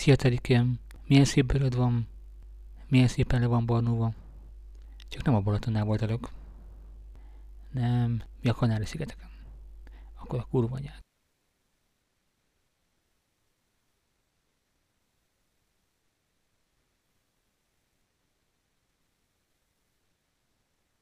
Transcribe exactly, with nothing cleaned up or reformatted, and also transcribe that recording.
Szia Terikém, milyen szép bőröd van, milyen szépen le van barnulva. Csak nem a Balatonnál voltalak. Nem, mi a Kanári-szigeteken. Akkor a kurva anyád.